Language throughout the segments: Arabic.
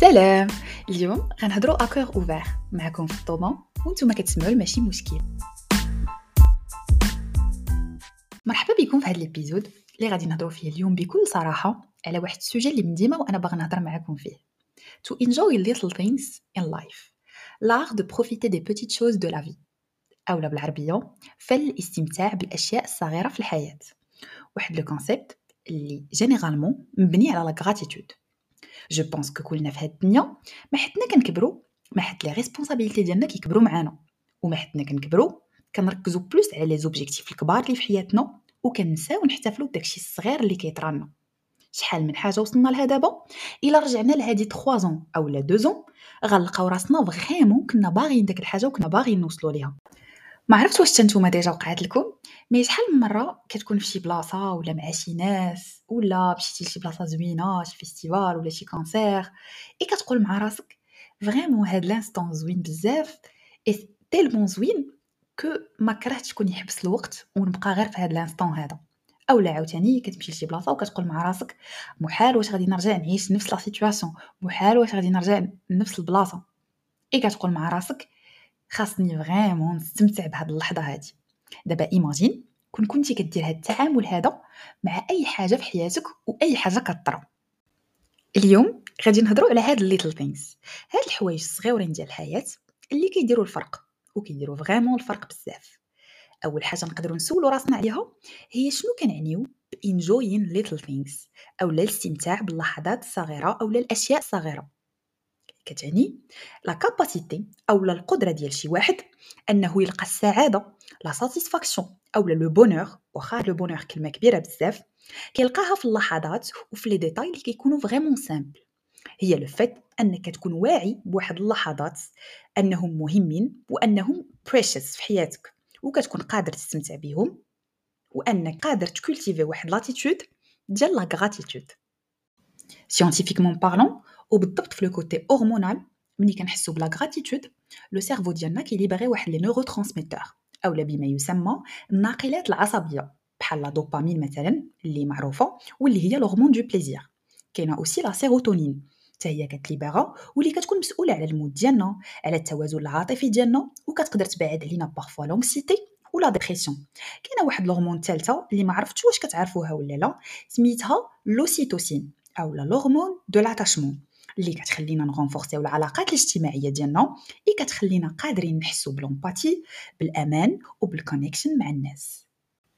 سلام. اليوم غنهضروا اكور اوفير معكم في الطومه وانتم كتسمعوا ماشي مشكل. مرحبا بكم في هذا الابيزود اللي غادي نهضروا فيه اليوم بكل صراحه على واحد السوجي اللي من ديما وانا باغا نهضر معكم فيه. To enjoy little things in life. L'art de profiter des petites choses de la vie. اولا بالعربيه فن الاستمتاع بالاشياء الصغيره في الحياه. واحد لو كونسيبت اللي جينيرالمون مبني على لا غراتيتود. جو بونس كو كلنا في هاد الدنيا ما حدنا كنكبروا ما حد لي ريسبونسابيلتي ديالنا كيكبروا معانا وما حدنا كنكبروا كنركزوا بلوس على لي زوبجيكتيف الكبار اللي في حياتنا وكنساو نحتفلوا بداكشي الصغير اللي كيطرالنا. شحال من حاجه وصلنا لها دابا الا رجعنا لهادي 3 زون او لا 2 زون غنلقاو راسنا فريمون كنا باغيين داك الحاجه وكنا باغيين نوصلوا ليها. ما عرفت واش نتوما ديجا وقعت لكم مي شحال من مره كتكون في شي بلاصه ولا مع شي ناس ولا مشيتي لشي بلاصه زوينه شي فيستيفال ولا شي كونسير اي كتقول مع راسك فريمون هاد لانستون زوين بزاف اي تيلمون زوين كو ما كرهتش كون يحبس الوقت ونبقى غير في هاد لانستون هذا. اولا عاوتاني كتمشي لشي بلاصه وكتقول مع راسك محال واش غادي نرجع نعيش نفس لا سيتوياسيون محال واش غادي نرجع لنفس البلاصه اي كتقول مع راسك خاصني فريمون نستمتع بهاد اللحظه هادي. دابا ايماجين كنتي كدير هاد التعامل هذا مع اي حاجه في حياتك واي حاجه كطرا. اليوم غادي نهضروا على هاد الليتل ثينكس هاد الحوايج الصغيورين ديال الحياه اللي كيديروا الفرق وكيديروا فريمون الفرق بزاف. اول حاجه نقدروا نسولوا راسنا عليها هي شنو كنعنيو بانجوين ليتل ثينكس او الاستمتاع باللحظات الصغيره او الاشياء الصغيره. كتعني لا كاباسيتي او القدره ديال شي واحد انه يلقى السعاده لا ساتيسفاكسيون او لو بونور واخا لو بونور كلمه كبيره بزاف كيلقاها في اللحظات وفي لي ديتاي اللي كيكونوا فريمون سامبل. هي لو فيت انك تكون واعي بواحد اللحظات انهم مهمين وانهم بريشيس في حياتك وكتكون قادر تستمتع بهم وانك قادر تكولتيفي واحد لاتيتود ديال لا غراتيتود. سيانتيفيكمون بارلون وبالضبط في لو كوتي هرمونال ملي كنحسوا بلا غراتيتود لو سيرفو ديالنا كيليبري واحد لي نورو ترانسميتور اولا بما يسمى الناقلات العصبيه بحال لا دوبامين مثلا اللي معروفه واللي هي الهرمون دو بليزير. كاينه اوسي لا سيروتونين حتى هي كتليبرا واللي كتكون مسؤوله على المود ديالنا على التوازن العاطفي ديالنا وكتقدر تبعد علينا بارفوا لونكسيتي ولا ديبرسيون. كاينه واحد الهرمون ثالثه اللي ما عرفتش واش كتعرفوها ولا لا سميتها لوسيتوسين او الهرمون دو لاتاشمون اللي كتخلينا نغونفورسيو العلاقات الاجتماعيه ديالنا اي كتخلينا قادرين نحسوا بلومباتي بالامان وبالكونيكشن مع الناس.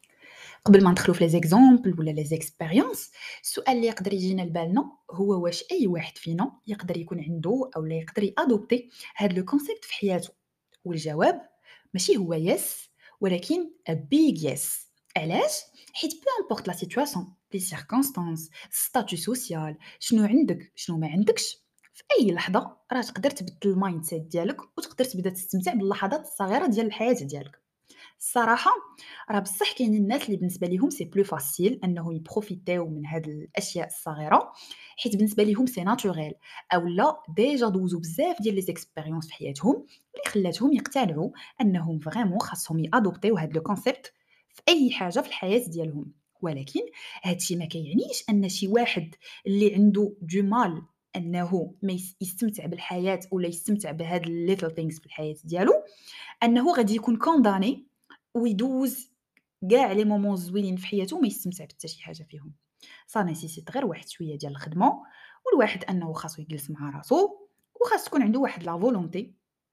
قبل ما ندخلوا في لي زيكزامبل ولا لي زيكسبيريونس السؤال اللي يقدر يجينا لبالنا هو واش اي واحد فينا يقدر يكون عنده او لا يقدر يادوبتي هذا لو كونسيبت في حياته. والجواب ماشي هو يس ولكن ا بيج يس. علاش؟ حيت بو امبورط لا سيتوياسيون لي سيركونستانس ستاتيو سوسيال شنو عندك شنو ما عندكش في اي لحظه راه تقدر تبدل المايند سيت ديالك وتقدر تبدا تستمتع باللحظات الصغيره ديال الحياه ديالك. الصراحه راه بصح كاينين الناس اللي بالنسبه ليهم سي بلو فاسيل انه يبروفيتيو من هاد الاشياء الصغيره حيت بالنسبه ليهم سي ناتوريل او لا ديجا دوزو بزاف ديال لي زيكسبيريونس في حياتهم اللي خلاتهم يقتنعوا انهم فريمون خاصهم يادوبتيو هاد لو كونسيبت في اي حاجه في الحياه ديالهم. ولكن هادشي ما كيعنيش ان شي واحد اللي عنده دو مال انه ما يستمتع بالحياه ولا يستمتع بهاد الليتل ثينكس في الحياه ديالو انه غادي يكون كونداني ويدوز كاع لي مومون زوينين في حياته وما يستمتع بحتى شي حاجه فيهم. صا نيسيسيت غير واحد شويه ديال الخدمه والواحد انه خاصو يجلس مع راسو وخاص تكون عنده واحد لا فولونتي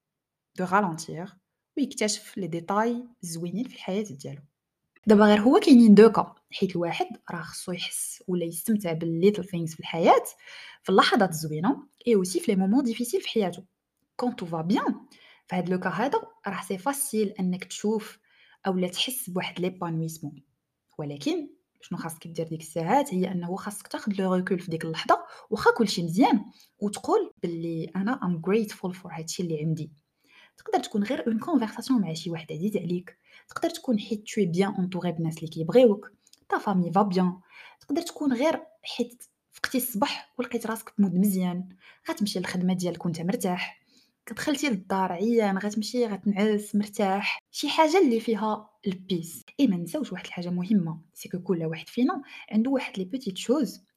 دو رالونتير ويكتشف لي ديتاي زوينين في الحياه ديالو. دابا غير هو كاينين دو كا حيت الواحد راه خصو يحس ولا يستمتع بالليتل ثينكس في الحياه في اللحظات الزوينه اي اوسي في لي مومون ديفيسيل في حياته. كون تو فا بيان في هاد لو كا هذا راه سي فاسيل انك تشوف اولا تحس بواحد ليبانويسمون. ولكن شنو خاصك دير ديك الساعات هي انه خاصك تاخذ لو ريكول في ديك اللحظه واخا كلشي مزيان وتقول باللي انا ام grateful فور هادشي اللي عندي. تقدر تكون غير اون كونفرساسيون مع شي واحد عزيز عليك تقدر تكون حيت tu es bien entouré بناس اللي كيبغيوك تا فامي فا بيان تقدر تكون غير حيت فقتي الصباح ولقيت راسك بمود مزيان غتمشي للخدمه ديالك وانت مرتاح كدخلتي للدار عيان غتمشي غتنعس مرتاح شي حاجه اللي فيها البيس. اي ما نساوش واحد الحاجه مهمه سي كو كل واحد فينا عنده واحد لي بوتيت شوز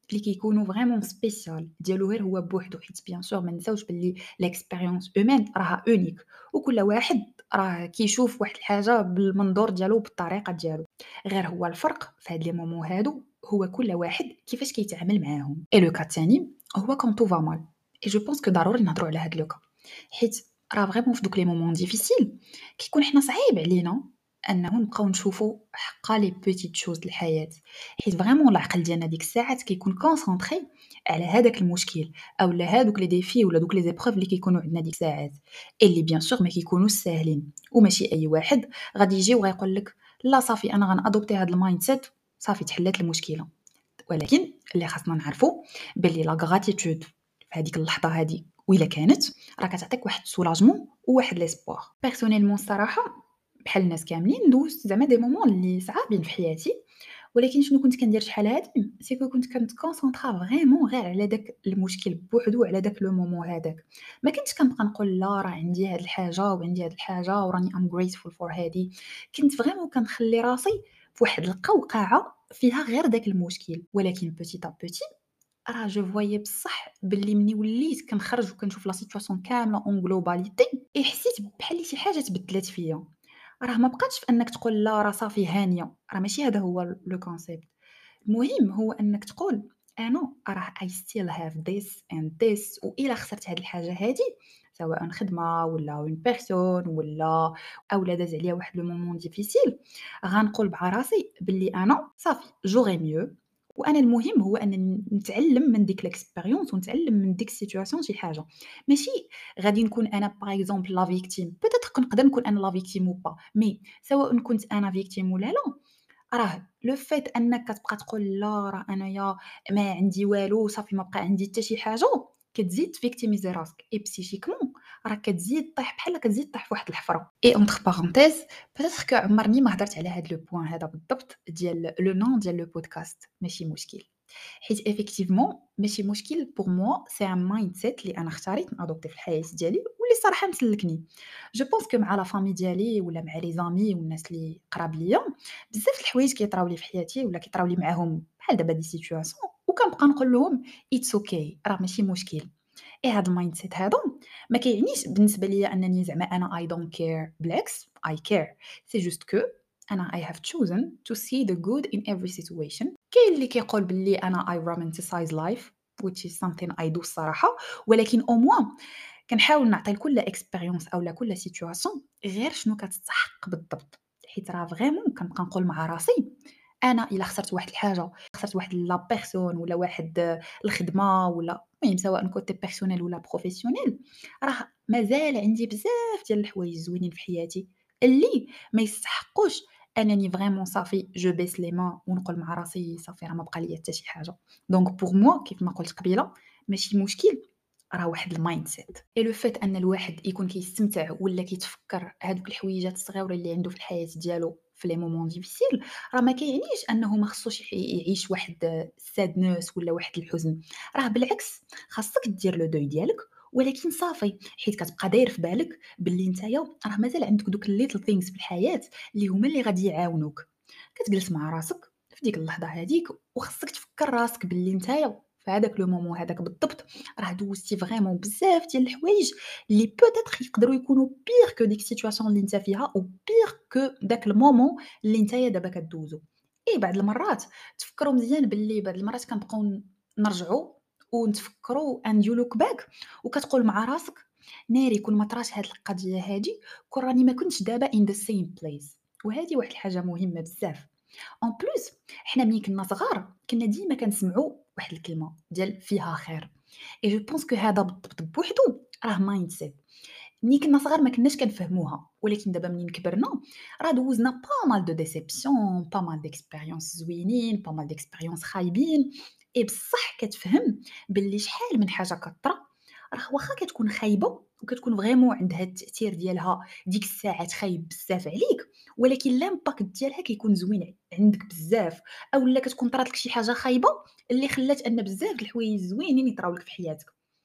اللي كيكونوا فريمون سبيسيال ديالو غير هو بوحدو، حيت بيان سور ما نساوش باللي ليكسبيريونس اومان راها اونيك، وكل واحد راه كيشوف واحد الحاجه بالمنظور ديالو بالطريقه ديالو. غير هو الفرق في هاد لي مومون هادو هو كل واحد كيفاش كيتعامل معاهم. اي لو كا الثاني هو كون تو فا مال، اي جو بونس كو ضروري نهضروا على هاد لو كا، حيت راه فريمون في دوك لي مومون ديفيسيل كيكون حنا صعيب علينا انه نبقاو نشوفوا حقا لي بيتيت شوز د الحياه، حيت فريمون العقل ديالنا ديك الساعات كيكون كونسونطري على هذاك المشكل اولا هادوك لي ديفي ولا دوك لي زيبروف اللي كيكونوا عندنا ديك الساعات، اللي بيان سور ما كيكونوش ساهلين، وماشي اي واحد غادي يجي وغيقول لك لا صافي انا غنادوبتي هاد المايند سيت صافي تحلات المشكله. ولكن اللي خاصنا نعرفوا باللي لا غراتيتود في هذيك اللحظه هذه وإلا كانت راه كتعطيك واحد سولاجمون وواحد ليسبوار. بيرسونيلمون الصراحه بحال الناس كاملين دوزت زعما دي مومون اللي صعابين في حياتي، ولكن شنو كنت كندير شحال هادي سي كنت كنتكونسونطرا فريمون غير على داك المشكل بوحدو على داك لو مومون هذاك، ما كنتش كنبقى نقول لا راه عندي هاد الحاجه وعندي هاد الحاجه وراني ام grateful فور هادي، كنت فريمون كنخلي راسي في واحد القوقعه فيها غير داك المشكل. ولكن بوتيت ا بوتي راه جو فوايي بصح باللي مني وليت كنخرج وكنشوف لا سيتواسيون كامله اون غلوباليتي حسيت بحال شي حاجه تبدلات فيا. راه ما بقاتش في انك تقول لا راه صافي هانيه، راه ماشي هذا هو لو كونسيبت. المهم هو انك تقول انا راه I still have this and this، وإلا خسرت هاد الحاجه هادي سواء خدمه ولا اون بيرسون ولا اولا داز عليا واحد لو مومون ديفيسيل، غنقول مع راسي باللي انا صافي جوغي ميو، وانا المهم هو ان نتعلم من ديك ليكسبيريونس ونتعلم من ديك السيتوياسيون شي حاجه. ماشي غادي نكون انا باغ اكزومبل لا فيكتيم، بيتيتر نقدر نكون انا لا فيكتيم و با، مي سواء كنت انا فيكتيم ولا لا، راه لو فيت أنك كتبقى تقول لا راه أنايا ما عندي والو صافي ما بقى عندي حتى شي حاجة، كتزيد تفيكتيميزي راسك et psychiquement راه كتزيد طيح بحال كتزيد طيح فواحد الحفرة. et entre parenthèses peut-être que عمرني ما هضرت على هاد لو بوين هذا بالضبط ديال لو نون ديال لو بودكاست، ماشي مشكل، حيت effectivement ماشي مشكل pour moi c'est un mindset اللي أنا اختاريت نادوبتيه في الحياة ديالي واللي الصراحة مسلكني. جو بونس كو مع لا فامي ديالي ولا مع لي زامي والناس اللي قراب ليا بزاف د الحوايج كيطراو لي في حياتي ولا كيطراو لي معاهم بحال دابا دي سيتوياسيون وكنبقى نقول لهم اتس اوكي راه ماشي مشكل. اي هاد المايند سيت هذا ما كيعنيش بالنسبه ليا انني زعما انا اي دونت كير، بالعكس اي كير، سي جوست كو انا I have chosen to see the good in every situation. كاين اللي كيقول باللي انا I romanticize life which is something I do الصراحه، ولكن au moins كنحاول نعطي لكل اكسبيريونس اولا كل سيتوياسيون غير شنو كتستحق بالضبط، حيت راه فريمون كنبقى نقول مع راسي انا الا خسرت واحد الحاجه، خسرت واحد لا بيرسون ولا واحد الخدمه ولا المهم سواء كوتي بيرسونيل ولا بروفيسيونيل، راه مازال عندي بزاف ديال الحوايج زوينين في حياتي اللي ما يستحقوش انني فريمون صافي جو بيس لي مان ونقول مع راسي صافي راه ما بقى ليا حتى شي حاجه. دونك بوغ موا كيف ما قلت قبيله ماشي مشكل، راه واحد المايند سيت اي لو فيت ان الواحد يكون كيستمتع ولا كيتفكر هادوك الحويجات الصغيره اللي عنده في الحياه ديالو في لي مومون ديفيسيل، راه ما كيعنيش انه ما خصوش يعيش واحد السادنس ولا واحد الحزن، راه بالعكس خاصك دير لو دوي ديالك، ولكن صافي حيت كتبقى داير في بالك باللي نتايا راه مازال عندك دوك الليتل ثينكس في الحياه اللي هما اللي غادي يعاونوك. كتجلس مع راسك في ديك اللحظه هذيك وخصك تفكر راسك باللي نتايا في هذاك لو مومون هذاك بالضبط راه دوزتي فريمون بزاف ديال الحوايج اللي بوتيتر يقدروا يكونوا بيغ كو ديك السيتوياسيون اللي انت فيها او بيغ كو داك المومون اللي نتايا دابا كدوزو. اي بعض المرات تفكروا مزيان باللي بعض المرات كنبقاو نرجعوا ونتفكروا and you look back وكتقول مع راسك ناري كون ما طراش هاد القضيه هادي كون راني ما كنتش دابا in the same place. وهذه واحد الحاجه مهمه بزاف en plus حنا ملي كنا صغار كنا ديما كنسمعوا واحد الكلمه ديال فيها خير اي جو بونس كو هذا بالضبط بوحدو راه مايند سيت. ملي كنا صغار ما كناش كنفهموها، ولكن دابا منين كبرنا راه دوزنا با مال دو ديسيبسيون با مال ديكسبيريونس زوينين با مال ديكسبيريونس خايبين، اي بصح كتفهم باللي شحال من حاجه كطرا راه واخا كتكون خايبه وكتكون فريمون عندها التاثير ديالها ديك الساعات خايب بزاف عليك، ولكن لامباكت ديالها كيكون زوين عندك بزاف، اولا كتكون طرات لك شي حاجه خايبه اللي خلات ان بزاف د الحوايج زوينين يطراو لك في حياتك.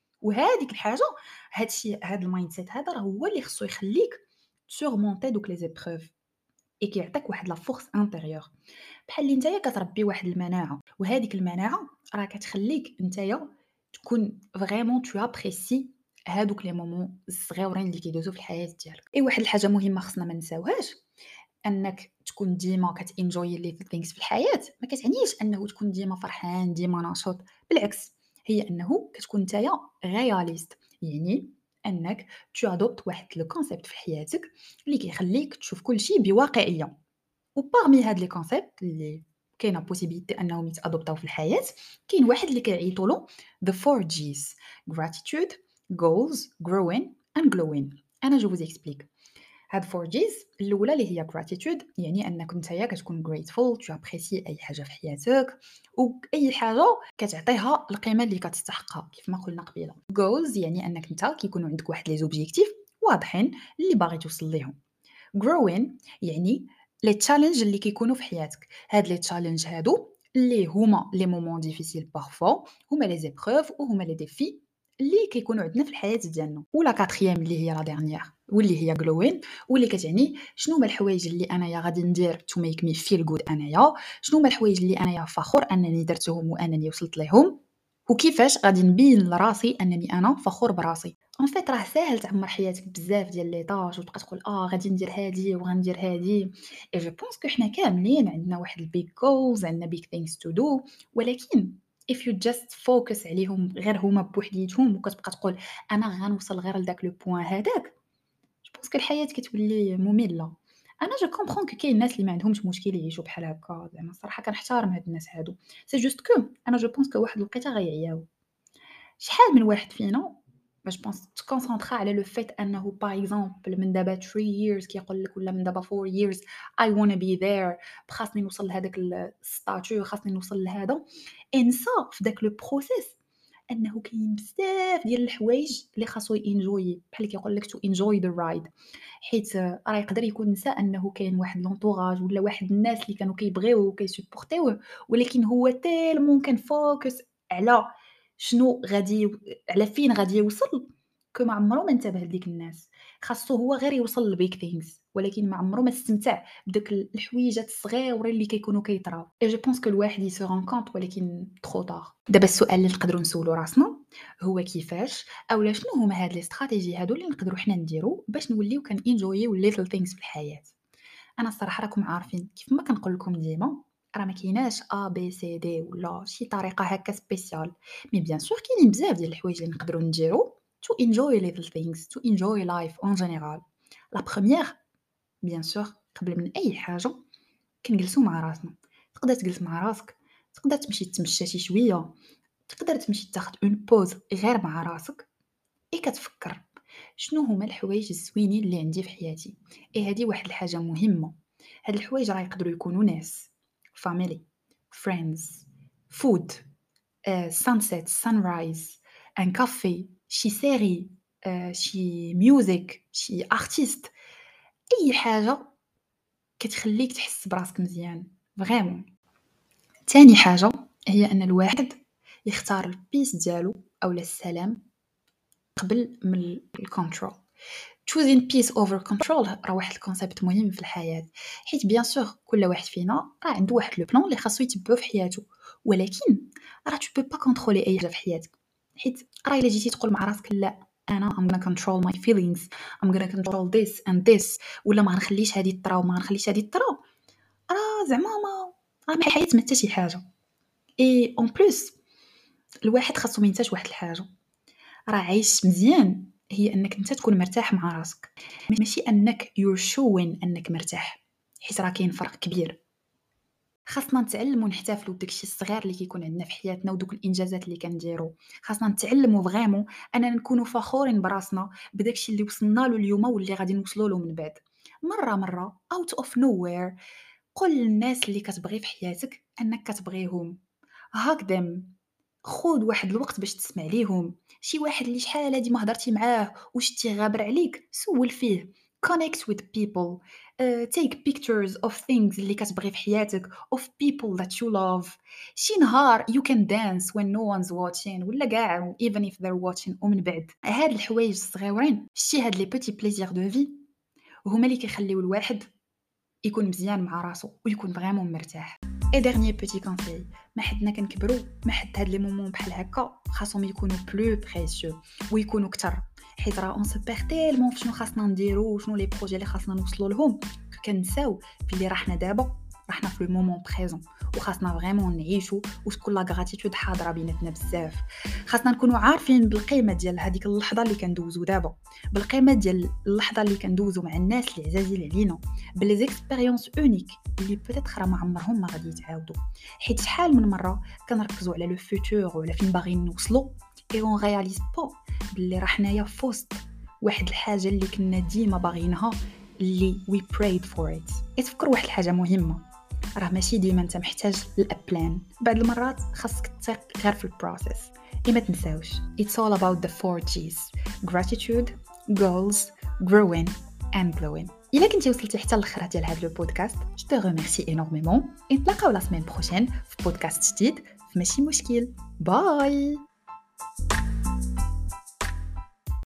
وهذيك الحاجه هاد الشيء هاد المايند سيت هذا راه هو اللي خصو يخليك سورمونتي دوك لي زيبروف اي كيعطيك واحد لا فورس انتيريور. بحال اللي نتايا كتربي واحد المناعة، وهاديك المناعة راه كتخليك نتايا تكون فريمون تو ابريسي هادوك لي مومون الصغيورين اللي كيدوزو في الحياة ديالك. واحد الحاجة مهمة خصنا ما نساوهاش، أنك تكون ديما كتenjoy little things في الحياة ما كتعنيش أنه تكون ديما فرحان ديما نشيط، بالعكس هي أنه كتكون نتايا réaliste، يعني أنك tu adoptes واحد le concept في حياتك اللي كيخليك تشوف كلشي بواقعية. وبارمي هاد لي كونسيبت اللي كاينه بوسيبيليتي انهم يتادوبتاو في الحياه، كاين واحد اللي كيعيطوا له the 4 G's: gratitude, goals, growing and glowing. انا جو vous explique. هاد 4 G's الاولى اللي هي gratitude، يعني انك نتايا كتكون grateful tu apprécies اي حاجه في حياتك، واي حاجه كتعطيها القيمه اللي كتستحقها كيف ما قلنا قبيله. goals يعني انك نتا كيكونوا عندك واحد لي زوبجيكتيف واضحين اللي باغي توصل ليهم. growing يعني لي تشالنج اللي كيكونوا في حياتك، هاد لي تشالنج هادو اللي هما لي مومون ديفيسيل بارفوا، هما لي زيبروف وهما لي ديفي اللي كيكونوا عندنا في الحياه ديالنا. ولا كاتريام اللي هي لا ديرنيير واللي هي جلوين، واللي كتعني شنو هما الحوايج اللي انايا غادي ندير تو ميك مي فيل جود انايا، شنو هما الحوايج اللي انايا فخور انني درتهم وانني وصلت ليهم، وكيفاش غادي نبين لراسي انني انا فخور براسي. ان فيت راه ساهل تعمر حياتك بزاف ديال لي طاج وتبقى تقول غادي ندير هادي وغندير هادي. اي جو بونس كو حنا كاملين عندنا واحد البيج جولز، عندنا بيج ثينكس تو دو، ولكن if you just focus عليهم غير هما بوحديتهم وكتبقى تقول انا غنوصل غير لداك لو بوين هذاك، جو بونس كو الحياه كتولي ممله. انا جو كومبرون كو كاين الناس اللي ما عندهمش مشكل يعيشوا بحال هكا، زعما الصراحه كنحترم هاد الناس هادو، سي جوست كو انا جو بونس كو واحد الوقيته غيعياو. شحال من واحد فينا جو بونس تكونسونطرا على لو فيت انه باغ اكزومبل من دابا 3 years كيقول لك، ولا من دابا 4 years I wanna be there، خاصني نوصل لهذاك الستاتيو، خاصني نوصل لهذا. انسى في داك لو بروسيس انه كاين بزاف ديال الحوايج اللي خاصو انجوي، بحال كيقول لك تو انجوي ذا رايد، حيت راه يقدر يكون نسى انه كاين واحد لونطوراج ولا واحد الناس اللي كانوا كيبغيوه وكيسبورتيوه، ولكن هو تالمون كان فوكس على شنو غادي على فين غادي يوصل، ما عمرو ما انتبه لديك الناس. خاصو هو غير يوصل للبيك ثينكس، ولكن ما عمرو ما استمتع بداك الحويجات الصغيورين اللي كيكونوا كيطراو. اي جو بونس كو الواحد يسو رون كونط ولكن ترو طار. دابا السؤال اللي نقدروا نسولو راسنا هو كيفاش اولا شنو هما هاد لي استراتيجي هادو اللي نقدروا حنا نديرو باش نوليو كان انجويو ليتل ثينكس في الحياه. انا الصراحه راكم عارفين كيف ما كنقول لكم ديما، راه ما كايناش ا بي سي دي ولا شي طريقه هكا سبيسيال، مي بيان سور كاينين بزاف ديال الحوايج اللي نقدروا نديرو to enjoy little things to enjoy life en général. لا بروميير بيان سور قبل من اي حاجه كنجلسو مع راسنا. تقدر تجلس مع راسك، تقدر تمشي تمشى شي شويه، تقدر تمشي تاخد اون بوز غير مع راسك، كتفكر شنو هما الحوايج الزوينين اللي عندي في حياتي. هذه واحد الحاجه مهمه. هاد الحوايج راه يقدروا يكونوا ناس، family, friends, food, sunset, sunrise, ان كافي، شي سيري، شي ميوزك، شي ارتيست، اي حاجه كتخليك تحس براسك مزيان فريمون. تاني حاجه هي ان الواحد يختار البيس ديالو اولا السلام قبل من الكونترول. choosing peace over control راه واحد الكونسيبت مهم في الحياه، حيت بيان سور كل واحد فينا راه عنده واحد لو بلان اللي خاصو يتبعو في حياته، ولكن راه tu peux pas contrôler اي حاجه في حياتك. حيت راه الا جيتي تقول مع راسك لا انا I'm gonna control my feelings, I'm gonna control this and this، ولا ما غنخليش هذه طرا وما غنخليش هذه طرا، راه زعما ما الحياه ما حتى شي حاجه. اي اون بليس الواحد خاصو ما ينساش واحد الحاجه، راه عايش مزيان هي انك انت تكون مرتاح مع راسك، ماشي انك you're showing انك مرتاح، حيت راه كاين فرق كبير. خاصنا نتعلموا نحتفلوا بداكشي الصغير اللي كيكون عندنا في حياتنا ودوك الانجازات اللي كنديرو. خاصنا نتعلموا فريمون اننا نكونوا فخورين براسنا بداكشي اللي وصلنا له اليوم واللي غادي نوصلوا له من بعد. مره out of nowhere قول للناس اللي كتبغي في حياتك انك كتبغيهم، hug them، خود واحد الوقت باش تسمع ليهم. شي واحد اللي شحال هادي ما هضرتي معاه وشتي غابر عليك سول فيه. connect with people, take pictures of things اللي كتبغي في حياتك of people that you love. شي نهار you can dance when no one's watching ولا كاع even if they're watching. ومن بعد هاد الحوايج الصغيورين، شتي هاد لي بوتي بليزير دو في هما اللي كيخليو الواحد يكون مزيان مع راسو ويكون فريمون مرتاح. اي ديرنيي بوتي كونساي، ما حدنا كنكبروا ما حد هاد لي مومون بحال هكا خاصهم يكونوا بلو بريسيو ويكونوا كتر، حيت راه اون سو بير تيلمون فشنو خاصنا نديرو وشنو لي بروجي اللي خاصنا نوصلوا لهم، كنساو بلي راحنا دابا راحنا في لو مومون بريزون وخاصنا فريمون نعيشوا وتكون لا غراتيتود حاضره بيناتنا بزاف. خاصنا نكونوا عارفين بالقيمه ديال هذيك اللحظه اللي كندوزو دابا، بالقيمه ديال اللحظه اللي كندوزو مع الناس اللي عزازين علينا، بلي زيكسبيريونس اونيك اللي بوتيت راه ما عمرهم ما غادي يتعاودوا. حيت شحال من مره كنركزوا على لو فوتور ولا فين باغيين نوصلوا اي اون رياليز با بلي راه حنايا فوسط واحد الحاجه اللي كنا ديما باغيينها، اللي we prayed for it. تفكر واحد الحاجه مهمه، راه ماشي ديما انت محتاج الابلان، بعض المرات خاصك تثق غير في البروسيس. ما تنساوش it's all about the 4 G's: gratitude, goals, growing and glowing. إلا كنتي وصلتي حتى الاخر ديال هذا البودكاست je te remercie énormément. نتلاقاو لا سيمين بروشين في بودكاست جديد في ماشي مشكل. باي.